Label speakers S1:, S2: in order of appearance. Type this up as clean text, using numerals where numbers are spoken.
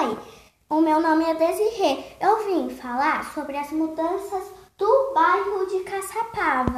S1: Oi, o meu nome é Desirê. Eu vim falar sobre as mudanças do bairro de Caçapava.